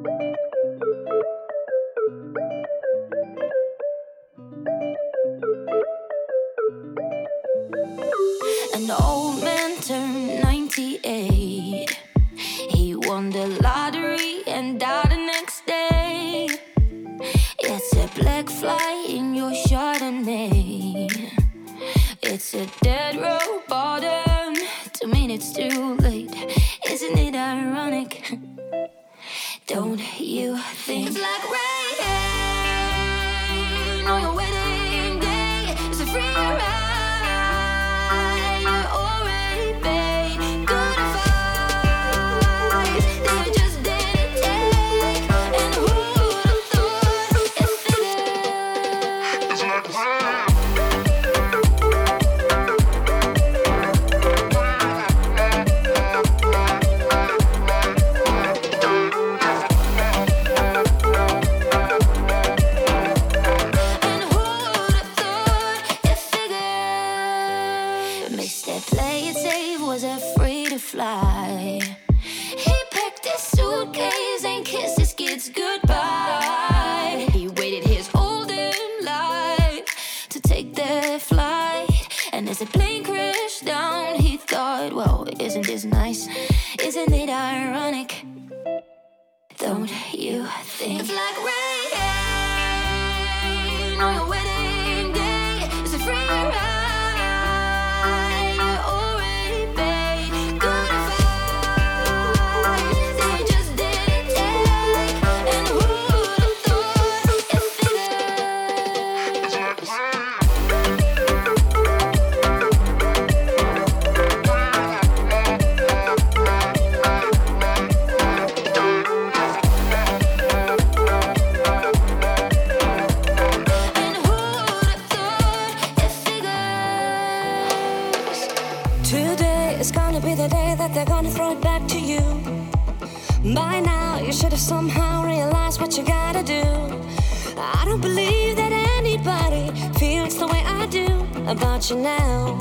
An old man turned 98. He won the lottery and died the next day. It's a black fly in your Chardonnay. It's a dead road bottom, 2 minutes too late. Isn't it ironic? Don't you think it's like rain on your wedding day? It's a free ride. You're already paid. Good advice that you just didn't take. And who would have thought it figured? It's like rain. Fly. He packed his suitcase and kissed his kids goodbye. He waited his whole damn life to take that flight. And as the plane crashed down, he thought, well, isn't this nice? Isn't it ironic? Don't you think it's like rain on your wedding day? It's a free ride. They're gonna throw it back to you. By now you should have somehow realized what you gotta do. I don't believe that anybody feels the way I do about you now.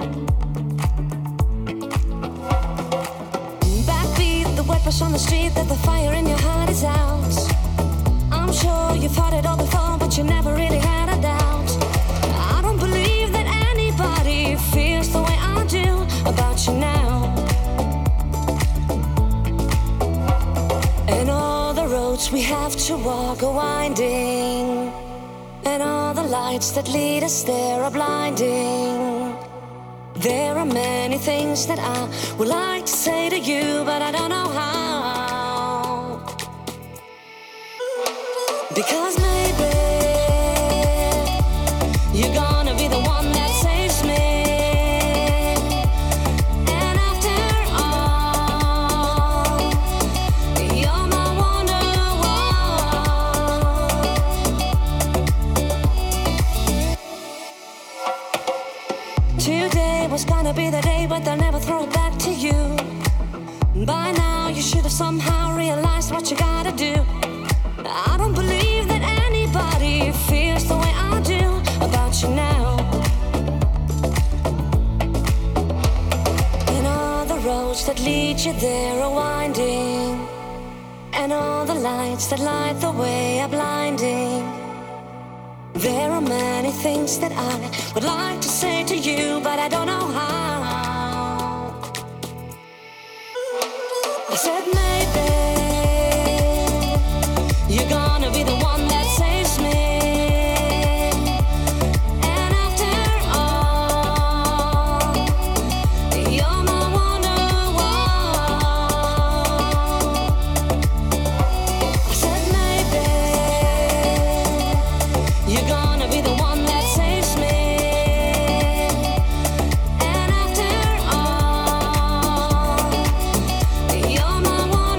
Backbeat, the wet brush on the street, that the fire in your heart is out. I'm sure you've heard it all before, but you never really had a doubt. I don't believe that anybody feels the way I do about you now. And all the roads we have to walk are winding, and all the lights that lead us there are blinding. There are many things that I would like to say to you, but I don't know how. Because maybe you're gonna be the one that saves me. Was gonna be the day, but they'll never throw it back to you. By now you should have somehow realized what you gotta do. I don't believe that anybody feels the way I do about you now. And all the roads that lead you there are winding, and all the lights that light the way are blinding. There are many things that I would like to say to you, but I don't know how. I said maybe you're gonna be the one that saves me. And after all, you're my wonderwall. I said maybe you're gonna be the one that saves me. And after all, you're my one.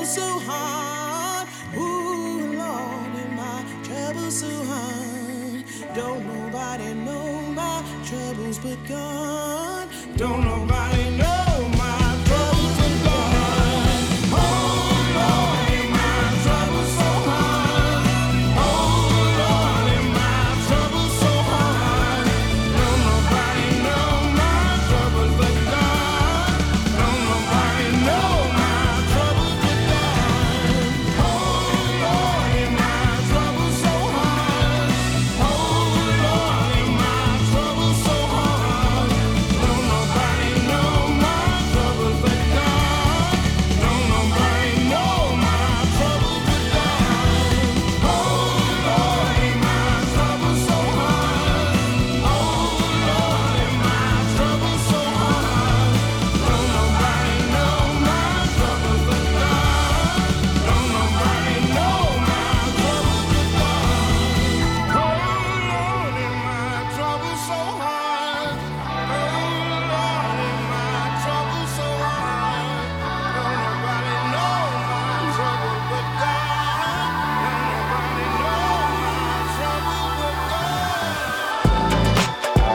so hard. Ooh, Lord, and my trouble so hard. Don't nobody know my troubles but God. Don't nobody know my troubles but God. Oh, Lord, and my trouble so hard. Oh, Lord, and my trouble so hard. Don't nobody know my troubles but God. Don't nobody know my troubles but God. Oh, Lord, and my trouble so hard. Oh, Lord, and my trouble so hard. Don't nobody know my troubles but God. Don't nobody know my troubles but God. Oh, Lord, and my trouble so hard. Oh, Lord, and my trouble so hard. Don't nobody know my troubles but God. Don't nobody know my troubles but God. Oh, Lord, and my trouble so hard. Oh, Lord, and my trouble so hard. Don't nobody know my trouble but God. Don't nobody know my trouble but God.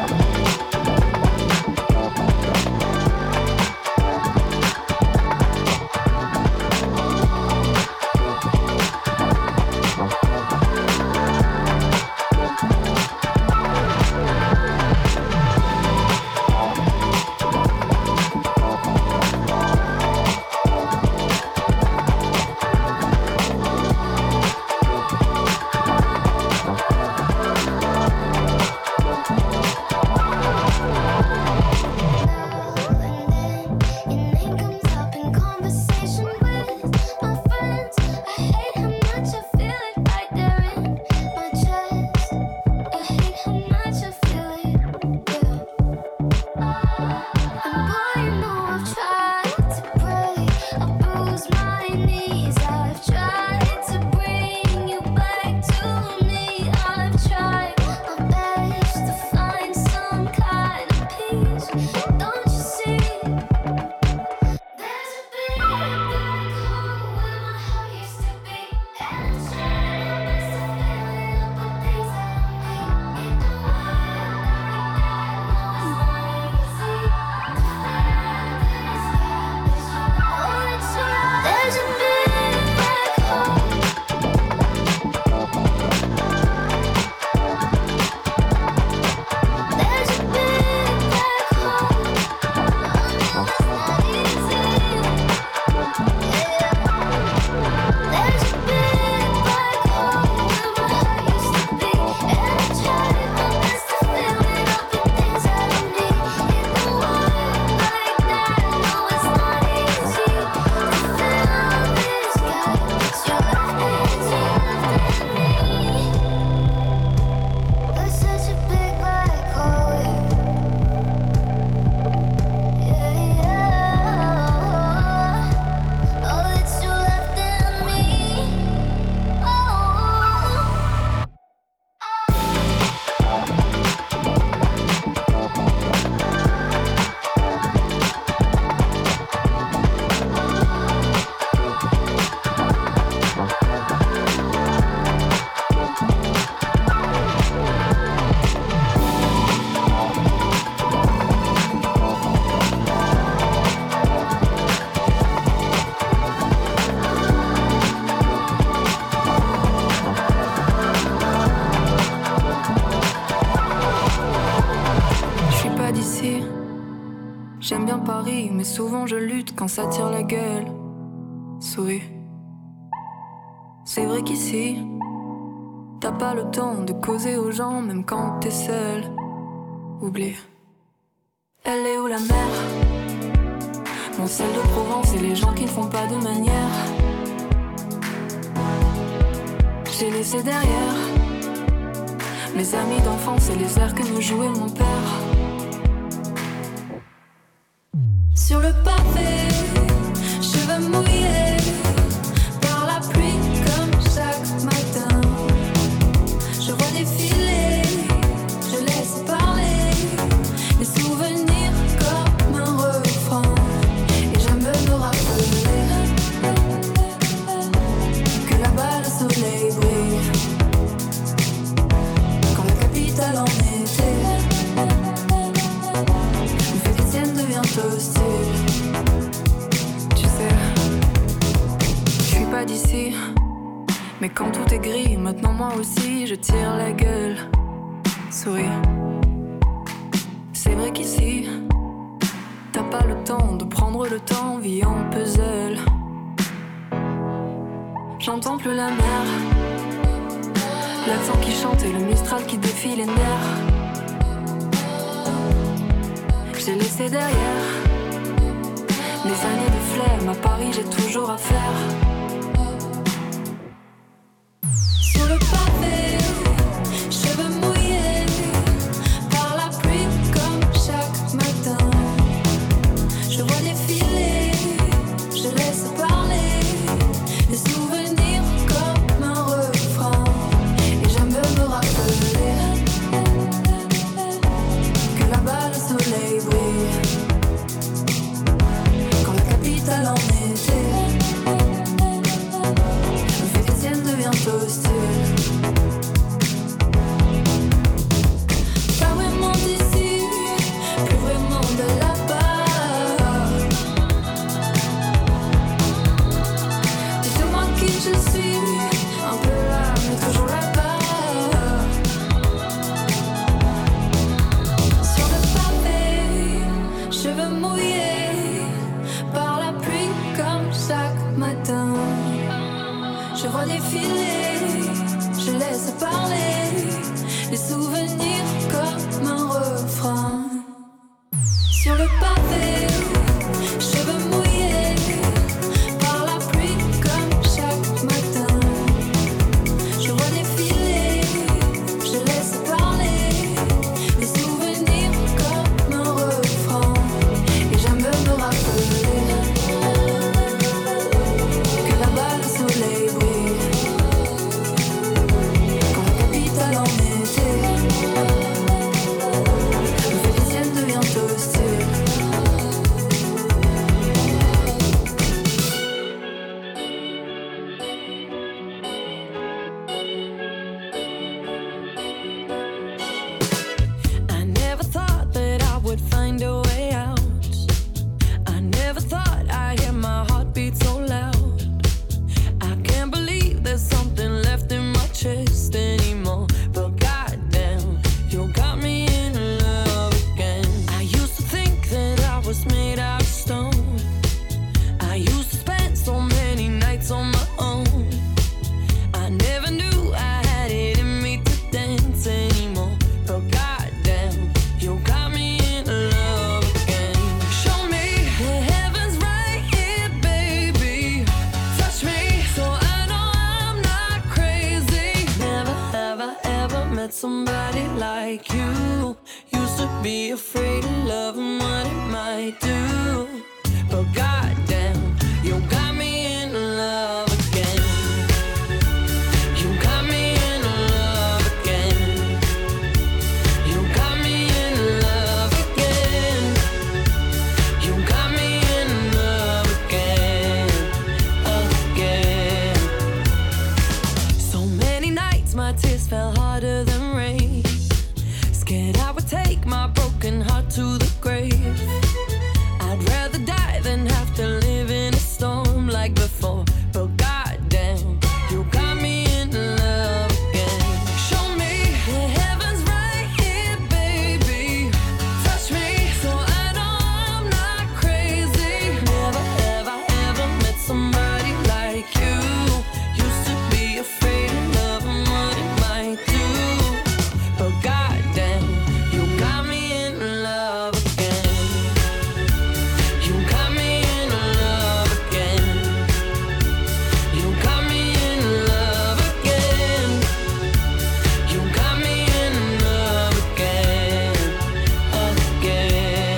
J'aime bien Paris, mais souvent je lutte quand ça tire la gueule. Souris. C'est vrai qu'ici, t'as pas le temps de causer aux gens, même quand t'es seul. Oublie. Elle est où la mer? Mon sel de Provence et les gens qui ne font pas de manière. J'ai laissé derrière mes amis d'enfance et les airs que me jouait mon père. Sur le pavé, cheveux mouillés par la pluie comme chaque matin. Je vois défiler, je laisse parler les souvenirs comme un refrain. Et j'aime me rappeler Mais quand tout est gris, maintenant moi aussi je tire la gueule. Souris. C'est vrai qu'ici t'as pas le temps de prendre le temps, vie en puzzle. J'entends plus la mer, l'accent qui chante et le Mistral qui défie les nerfs. J'ai laissé derrière des années de flemme, à Paris j'ai toujours à faire. Sur le pavé, cheveux mouillés par la pluie comme chaque matin. Je vois défiler, je laisse parler les souvenirs comme un refrain. Et j'aime me rappeler que là-bas le soleil brille quand la capitale en été me fait des siennes devient hostile. Pas vraiment d'ici, plus vraiment de là-bas. Dites-moi qui je suis, un peu là mais toujours là-bas. Sur le pavé, cheveux mouillés par la pluie comme chaque matin. Je vois défiler, je laisse parler les souvenirs comme un refrain. Sur le pavé, cheveux mouillés par la pluie comme chaque matin. Je vois défiler, je laisse parler les souvenirs comme un refrain. Et j'aime me rappeler que là-bas le soleil brille quand la capitale en été me fait des siennes devient hostile. I never thought that I would find a way out. I never thought I'd hear my heartbeat so loud. I can't believe there's something left in my chest anymore. But goddamn, you got me in love again. I used to think that I was made out of stone. I used to spend so many nights on my own. I never knew I had it in me to dance anymore. But goddamn, you got me in love again. Show me the heavens right here, baby. Touch me so I know I'm not crazy. Never have I ever met somebody like you. Used to be afraid of love and what it might do. But goddamn, you got me in love again. You got me in love again. You got me in love again. You got me in love again, again. So many nights my tears fell harder than rain. Scared I would take my broken heart to the grave. I'd rather die than have to live in a storm like before. But goddamn, you got me in love again. Show me the heavens right here, baby. Touch me so I know I'm not crazy. Never have I ever met somebody like you. Used to be afraid of love and what it might do. But goddamn, you got me in love again. You got me in love again. You got me in love again. You got me in love again, again.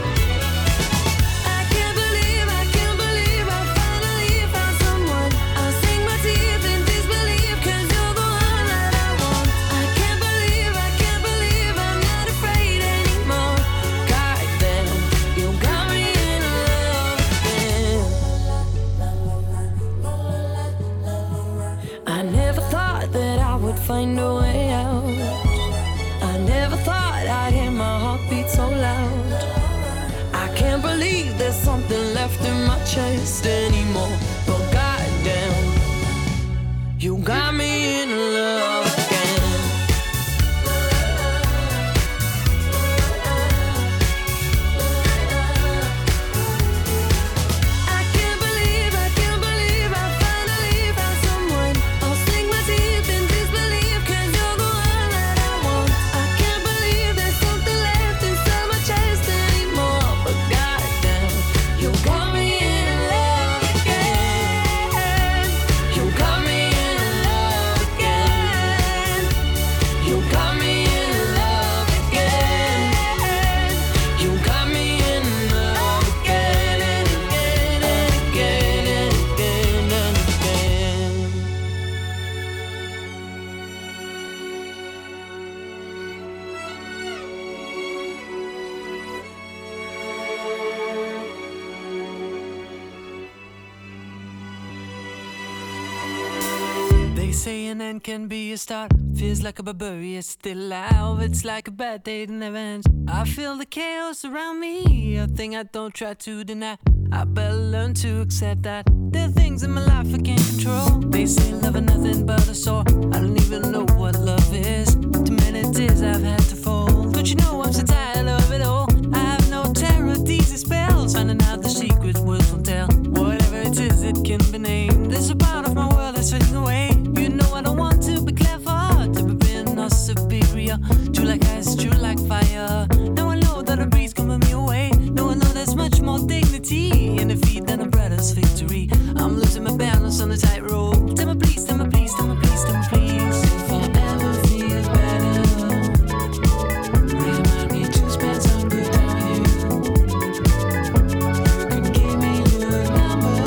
I can't believe I finally found someone. I'll sink my teeth in disbelief 'cause you're the one that I want. I can't believe I'm not afraid anymore. Goddamn, you got me in love again. I never thought that I would find a way out. I never thought I'd hear my heartbeat so loud. I can't believe there's something left in my chest anymore. But goddamn, you got say an end can be a start. Feels like a barbarian still alive. It's like a bad day that never ends. I feel the chaos around me, a thing I don't try to deny. I better learn to accept that there are things in my life I can't control. They say love is nothing but a sore. I don't even know what love is. Too many tears I've had to fold. Don't you know I'm so tired of it all? I have no terror, these are spells. Finding out the secret words won't tell. Whatever it is, it can be named. There's a part of my world that's fading away. You know I don't want to be clever, to be being or superior. True like ice, true like fire. Now I know that a breeze can put me away. Now I know there's much more dignity in defeat than a brother's victory. I'm losing my balance on the tightrope. Tell me please, tell me please, tell me please, tell me please. If I ever feel better, remind me to spend some good time with you. You can give me your number.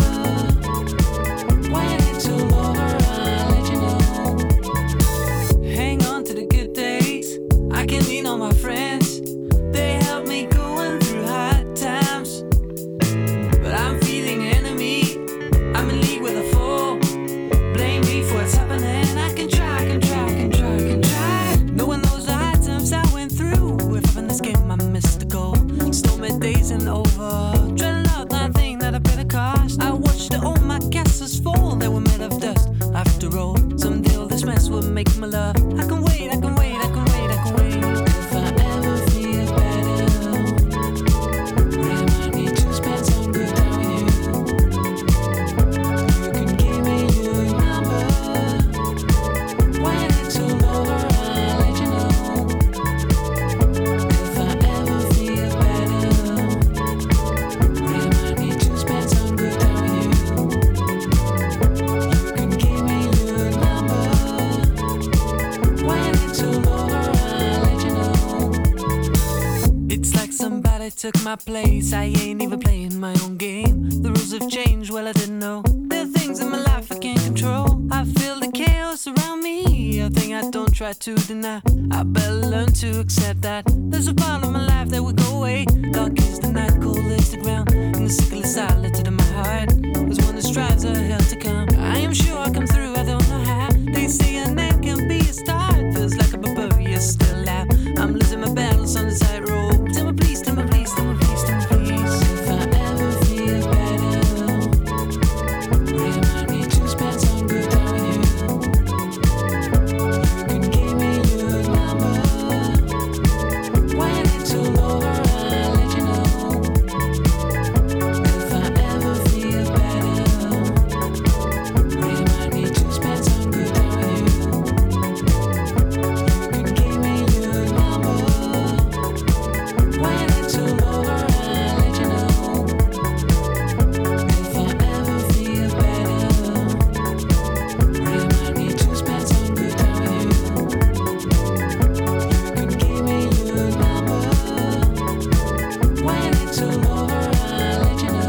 When it's all over, I'll let you know. Hang on to the good days. I can lean on my friends. They help me going through hard times. But I'm feeling enemy. I'm in league with a fool. Blame me for what's happening. I can try, can try, can try, can try. No one knows the hard times I went through. If I'm in this game, I missed the goal. Stormy days and over. Dreading out that thing that I paid a cost. I watched all my castles fall. They were made of dust. After all, someday all this mess will make my love. I can wait, I can wait, I can wait, I can wait. If I ever feel better, remind me to spend some good time with you. You can give me your number. When it's all over, I'll let you know. If I ever feel better, remind me to spend some good time with you. You can give me your number. When it's all over, I'll let you know. It's like somebody took my place. I ain't even playing my own game. The rules have changed, well I didn't know. There are things in my life I can't control. I feel the chaos around me, a thing I don't try to deny. I better learn to accept that there's a part of my life that will go away. Dark is the night, cold is the ground, and the sickle is silent in my heart. There's one that strives a hell to come. I am sure I'll come through, I don't know how. They say an end can be a start. Feels like a barbarian still alive. I'm losing my balance on the tightrope. Tell me please, tell me please, tell me please, tell me please. If I ever feel better, remind me to spend some good time with you. You can give me your number. When it's all over, I'll let you know. If I ever feel better, remind me to spend some good time with you. You can give me your number. When it's all over, I'll let you know. If I ever feel better, remind me to spend some good time with you. You can give me your number. When it's all over, I'll let you know.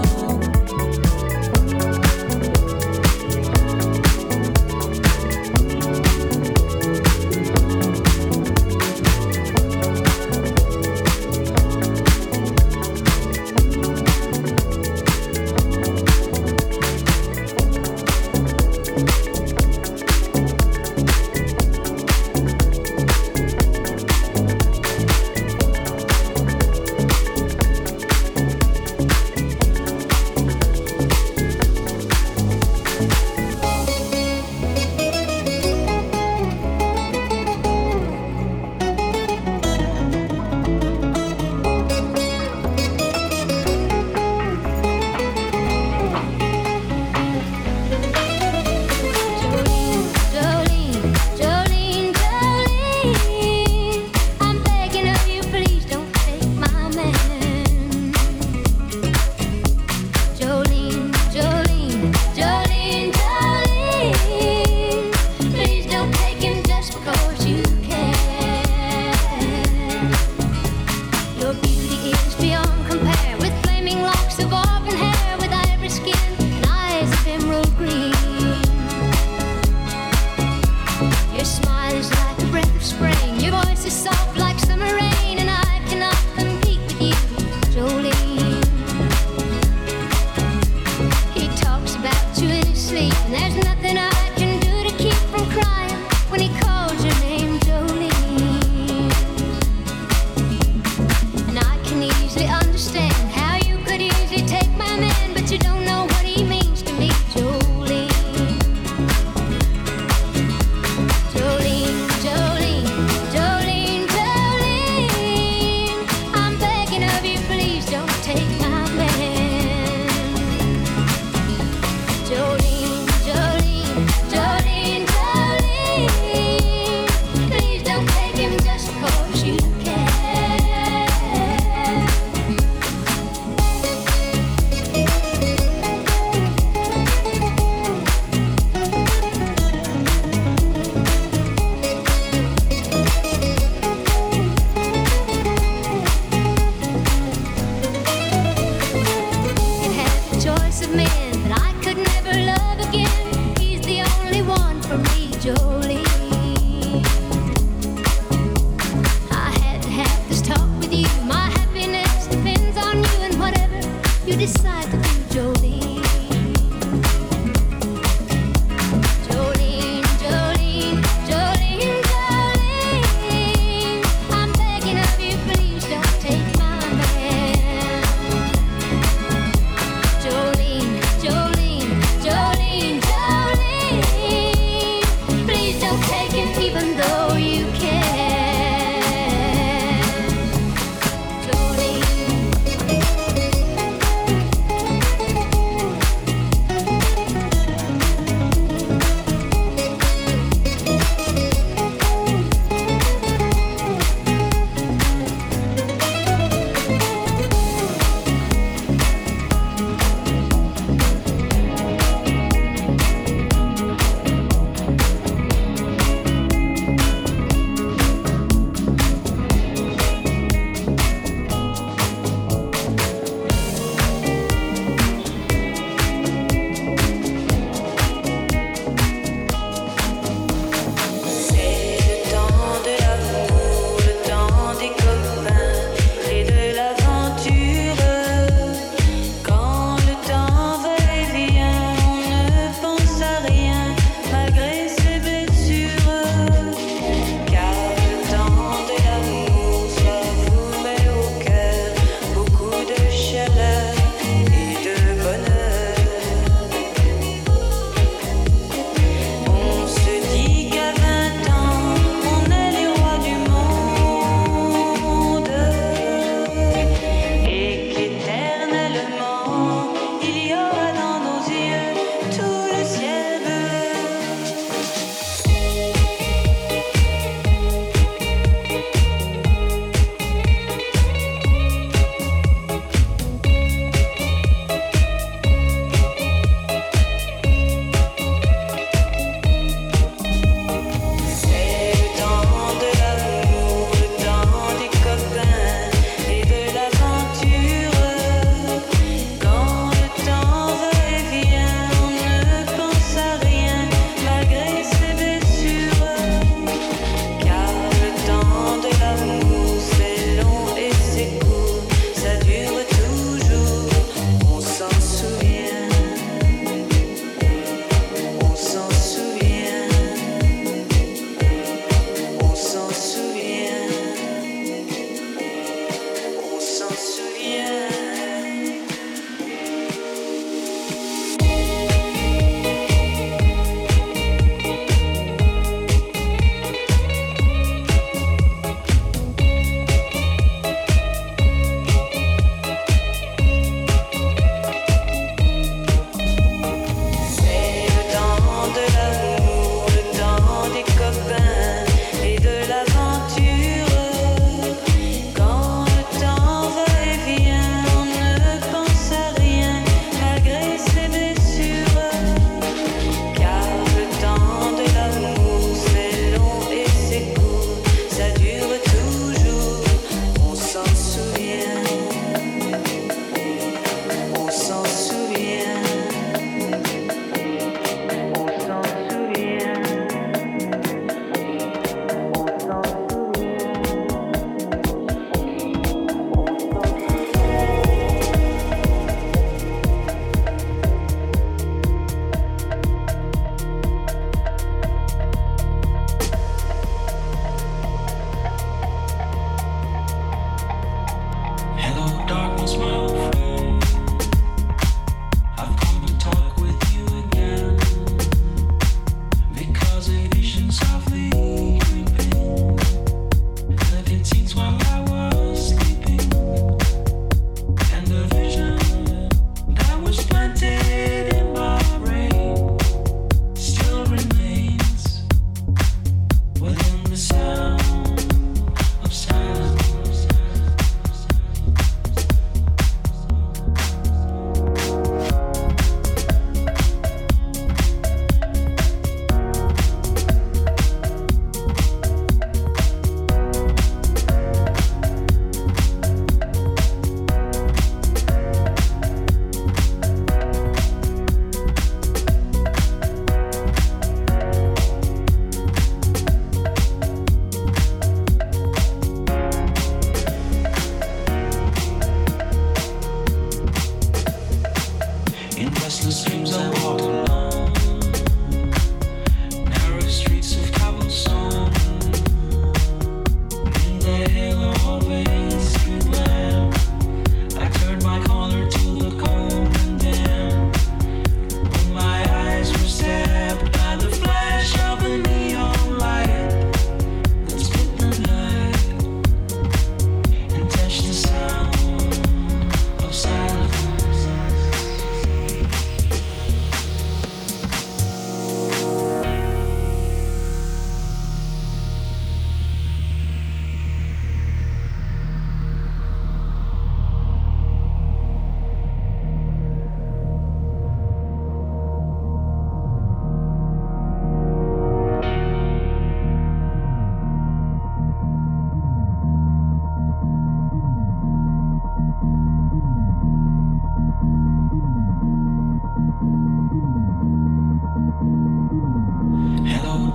There's nothing I can do to keep from crying.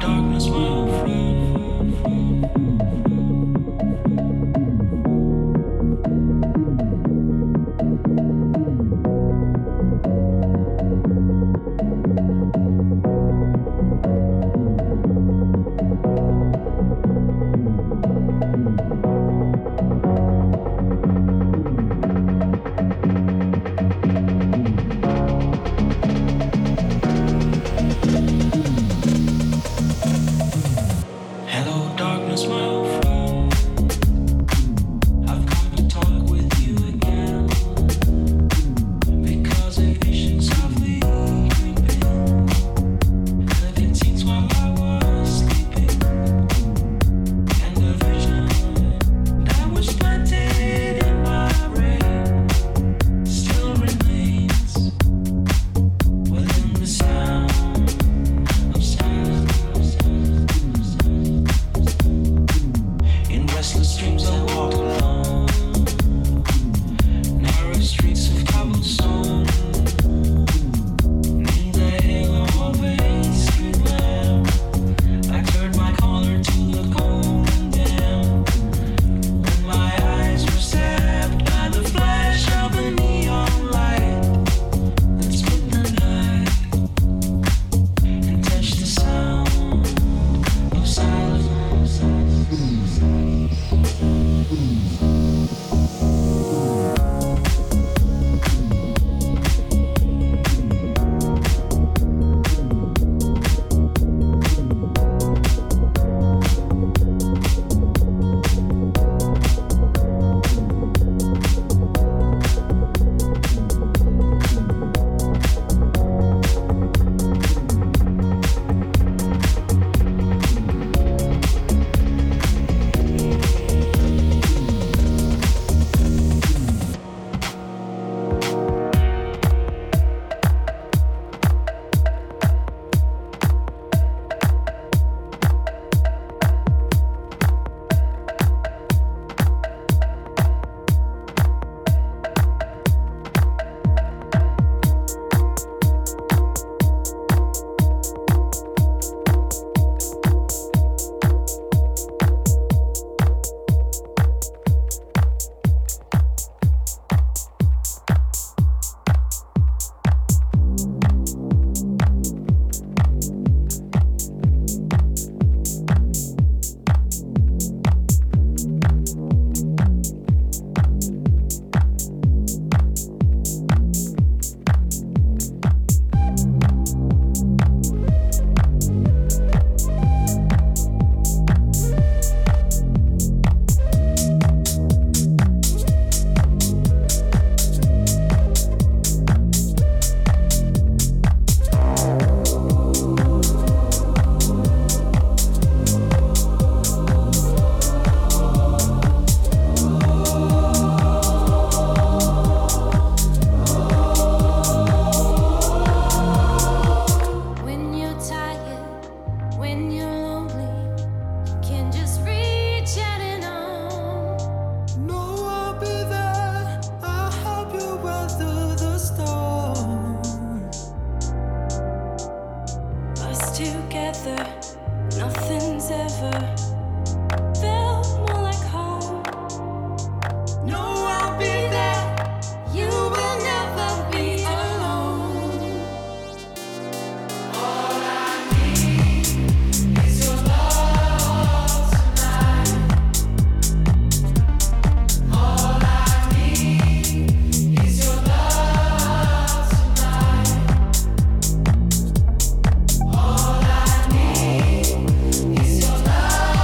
All I need is your love.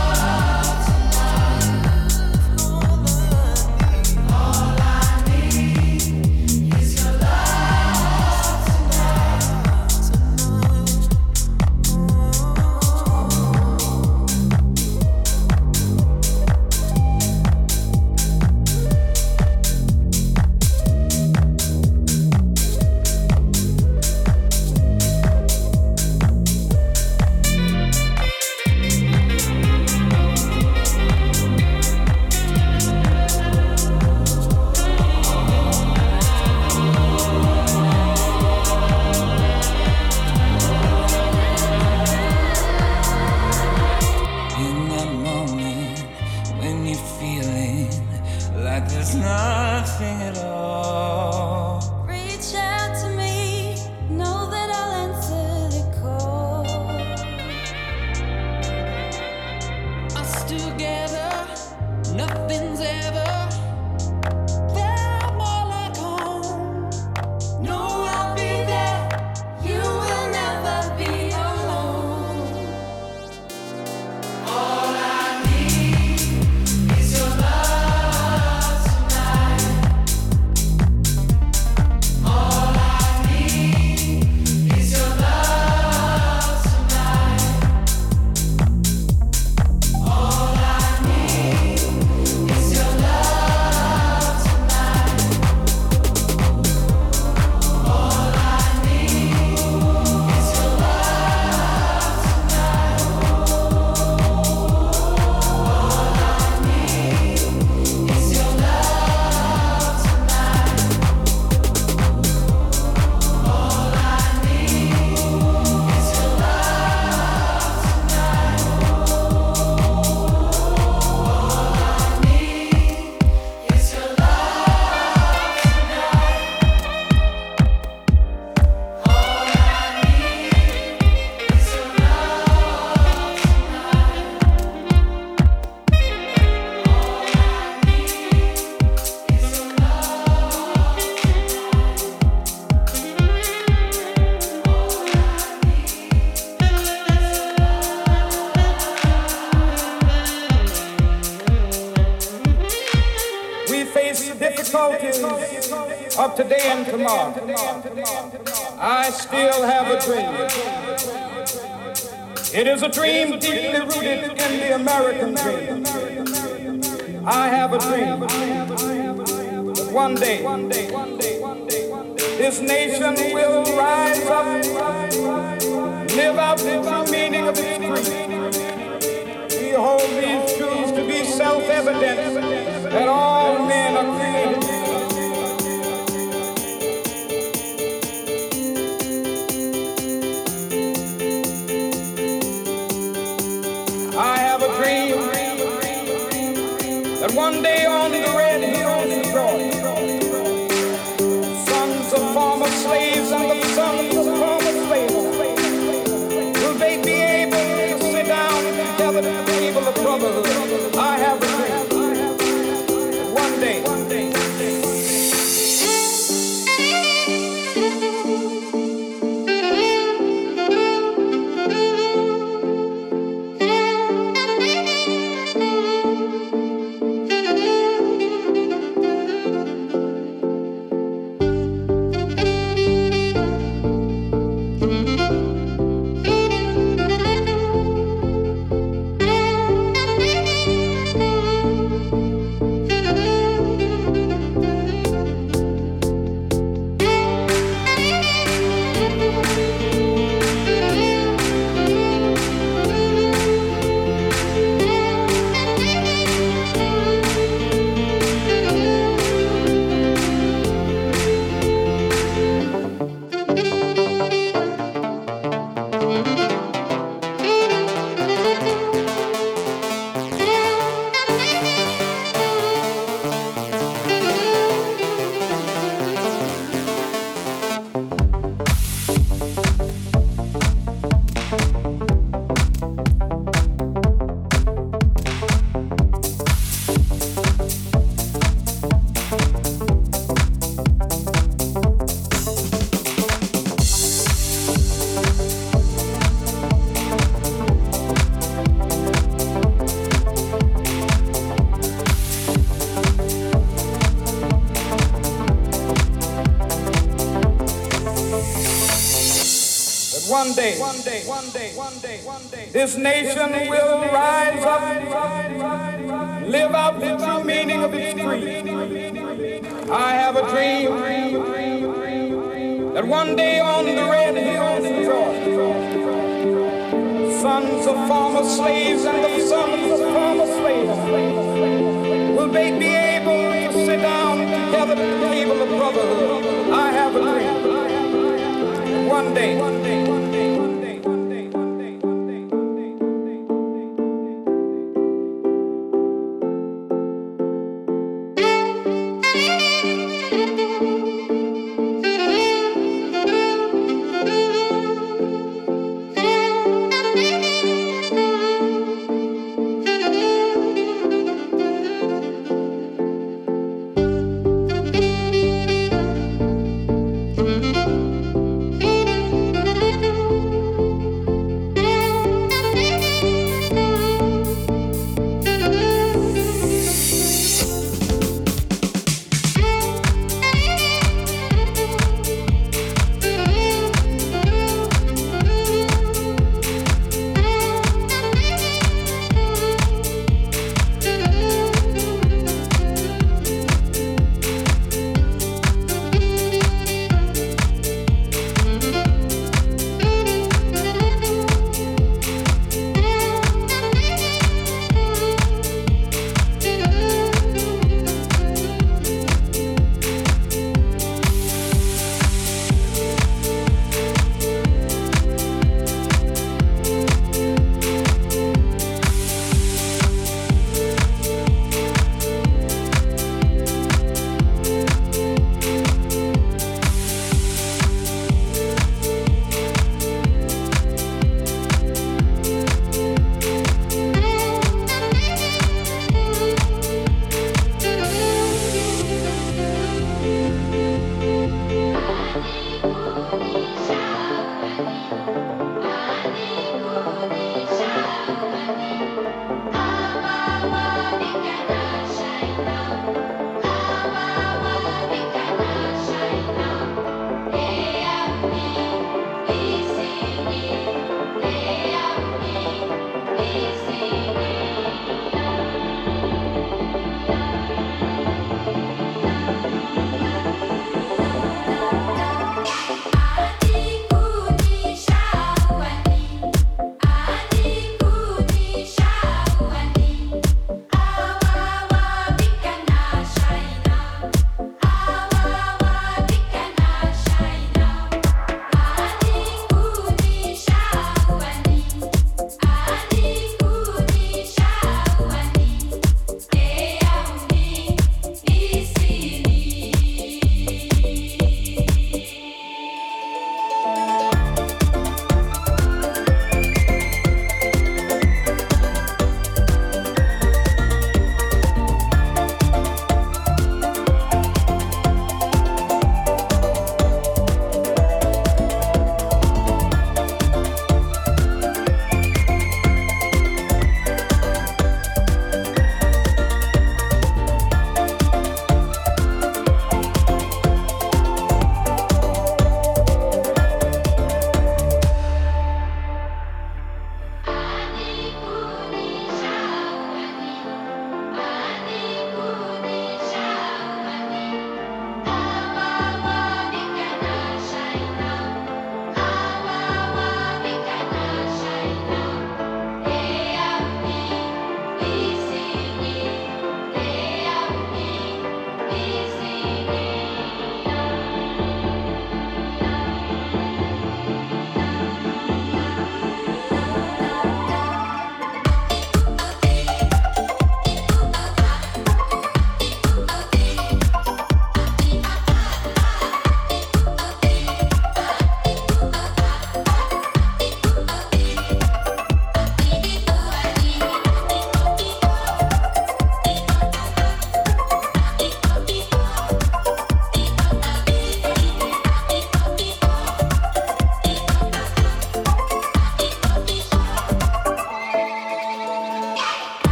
difficulties of today and tomorrow, I still have a dream. It is a dream deeply rooted in the American dream. I have a dream that one day this nation will rise up, live out the true meaning of its creed. We hold these truths to be self-evident that all men are created. I have a dream that one day on the red hills of Georgia, sons of former slaves and the sons of former slaves will they be able to sit down together at the table of brotherhood. I have a dream that one day this nation will rise up, live out the true meaning of its creed. I have a dream that one day on the red hills of Georgia, sons of former slaves and the sons of former slaves will they be able to sit down together at the table of brotherhood. I have a dream that one day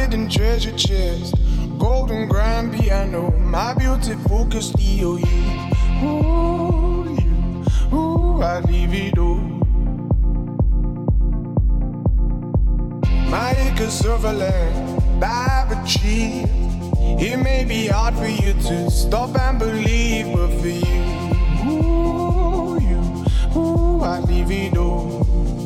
hidden treasure chest, golden grand piano, my beautiful Castillo. I leave it all. My acres of land I've achieved. It may be hard for you to stop and believe, but for you, I leave it all.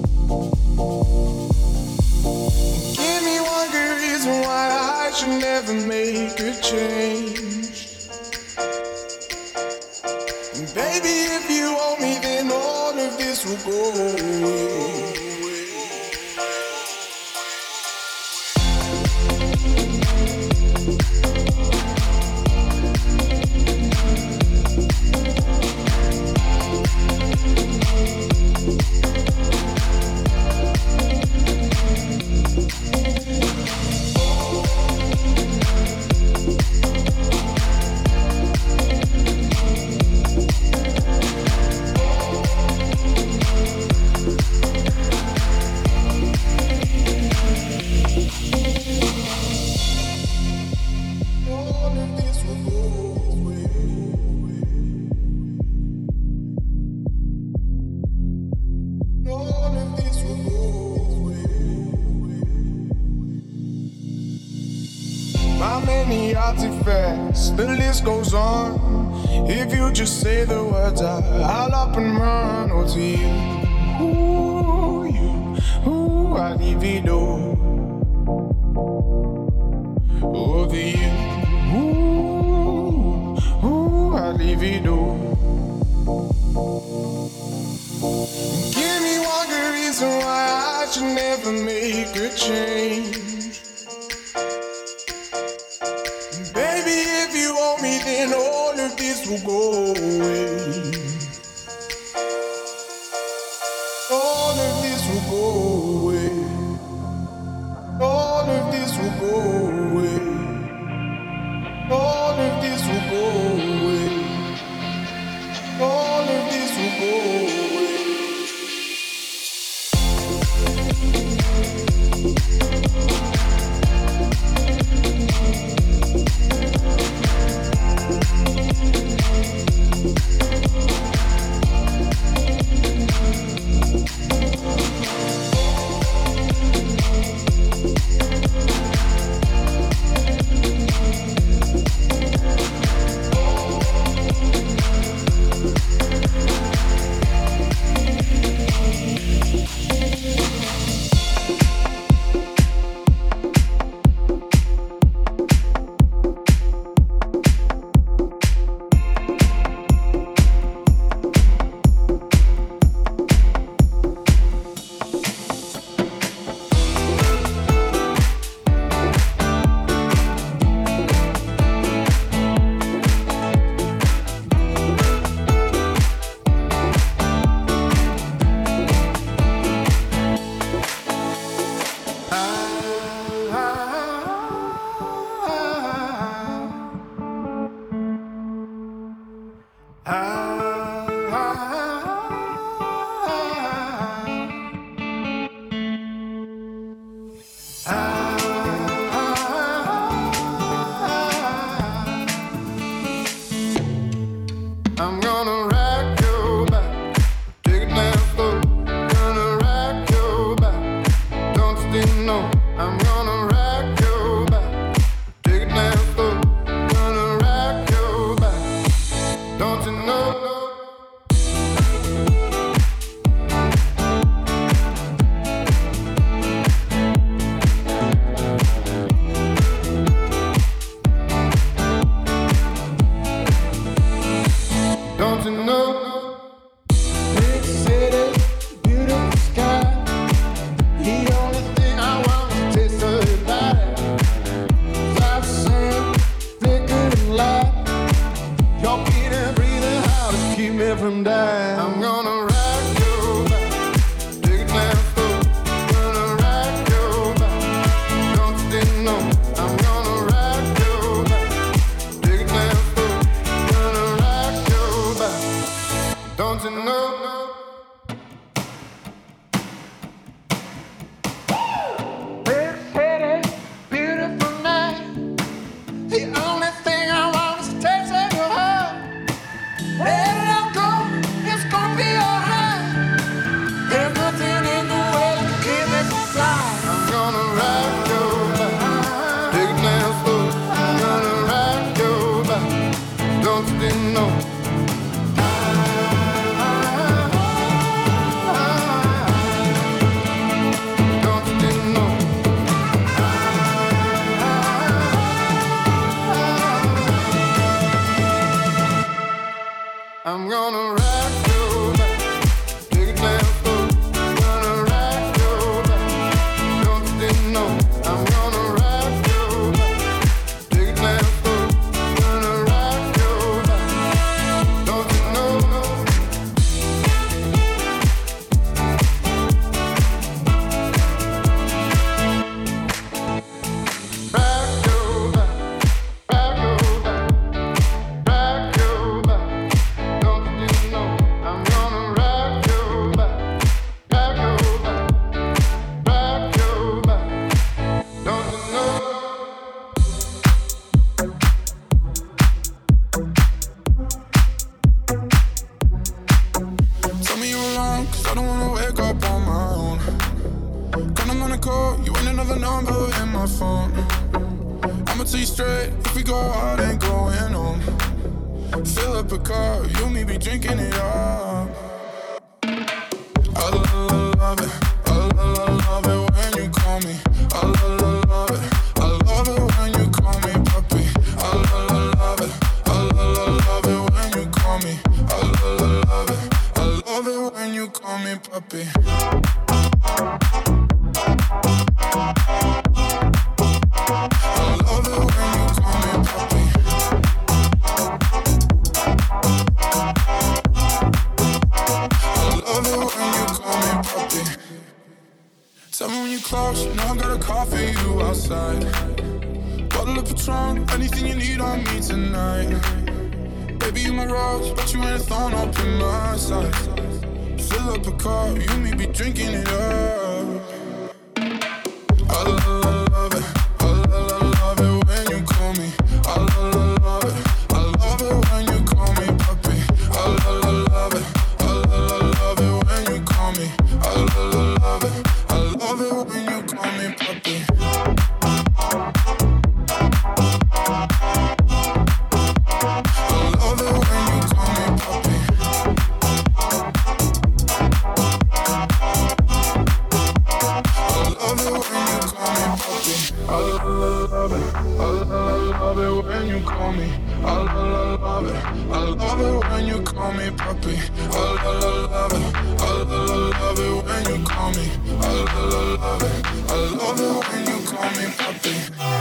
Give me one good reason why I should never make a change. And baby, if you want me, then all of this will go away. Artifacts, the list goes on. If you just say the words, I'll up and run. Oh, to you, I leave it all. Oh, to you, I leave it all. Give me one good reason why I should never make a change. Then all of this will go away. All of this will go away. All of this will go away. All of this will go away. All of this will go away. I don't wanna wake up on my own. Then I'm gonna call you ain't another number in my phone. I'ma tell you straight, if we go out, ain't going home. Fill up a car, you and me be drinking it up. I love it, I love it when you call me. I love it, I love it when you call me puppy. I love it, I love it when you call me. I love it, I love it when you call me puppy. Tell me when you close, you know I got a call for you outside. Bottle of Patron, anything you need on me tonight. Baby, you my rose, but you ain't a thorn up in my side. Fill up a car, you and me be drinking it up. I love it, I love it when you call me. I love it, I love it when you call me puppy. I love it, I love it when you call me. I love it, I love it when you call me puppy. When you call me, I love it. I love it when you call me puppy. I love it. I love it when you call me. I love it. I love it when you call me puppy.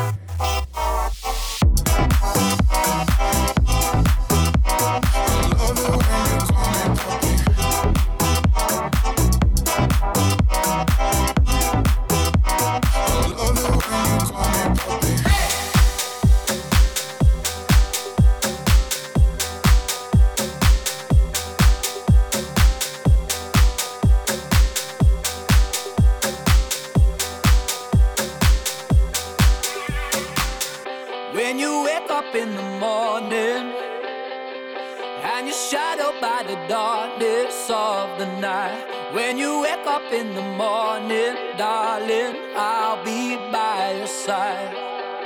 When you wake up in the morning and you're shadowed by the darkness of the night. When you wake up in the morning, darling, I'll be by your side.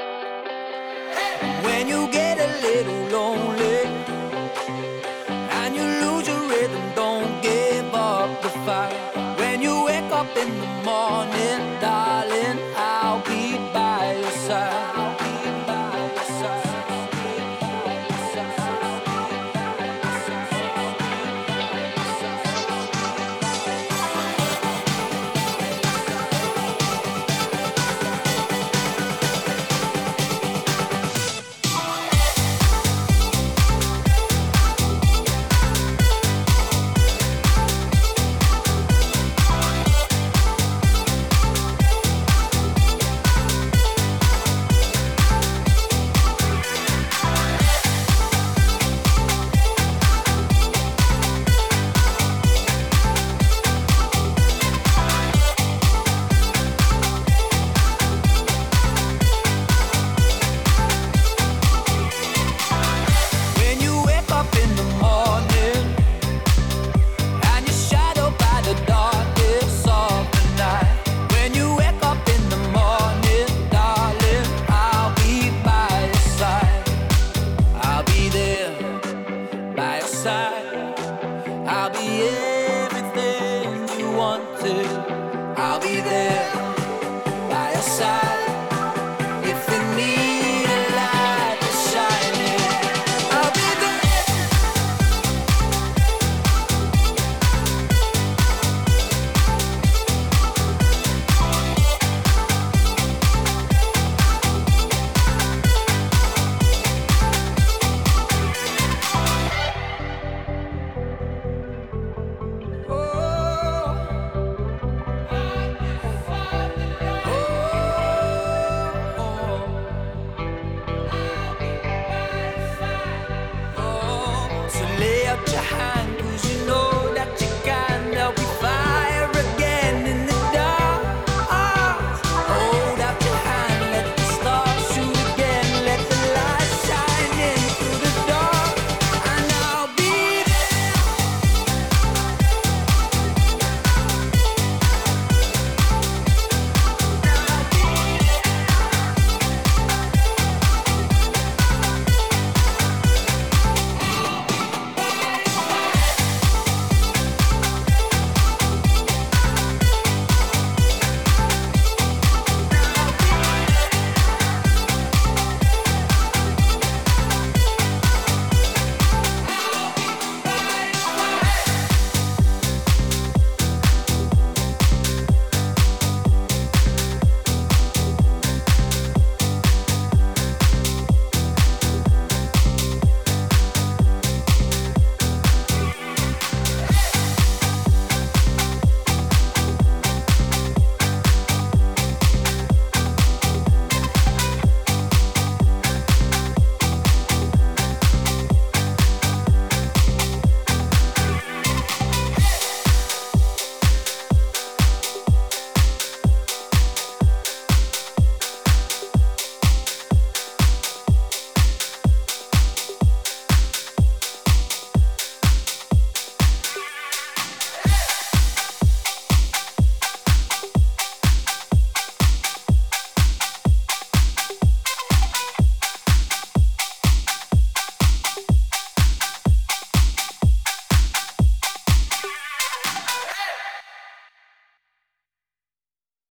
When you get a little lonely and you lose your rhythm, don't give up the fight. When you wake up in the morning, darling, I'll